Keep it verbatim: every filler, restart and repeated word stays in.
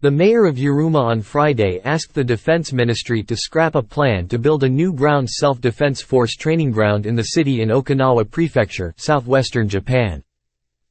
The mayor of Yuruma on Friday asked the Defense Ministry to scrap a plan to build a new ground self-defense force training ground in the city in Okinawa Prefecture, southwestern Japan.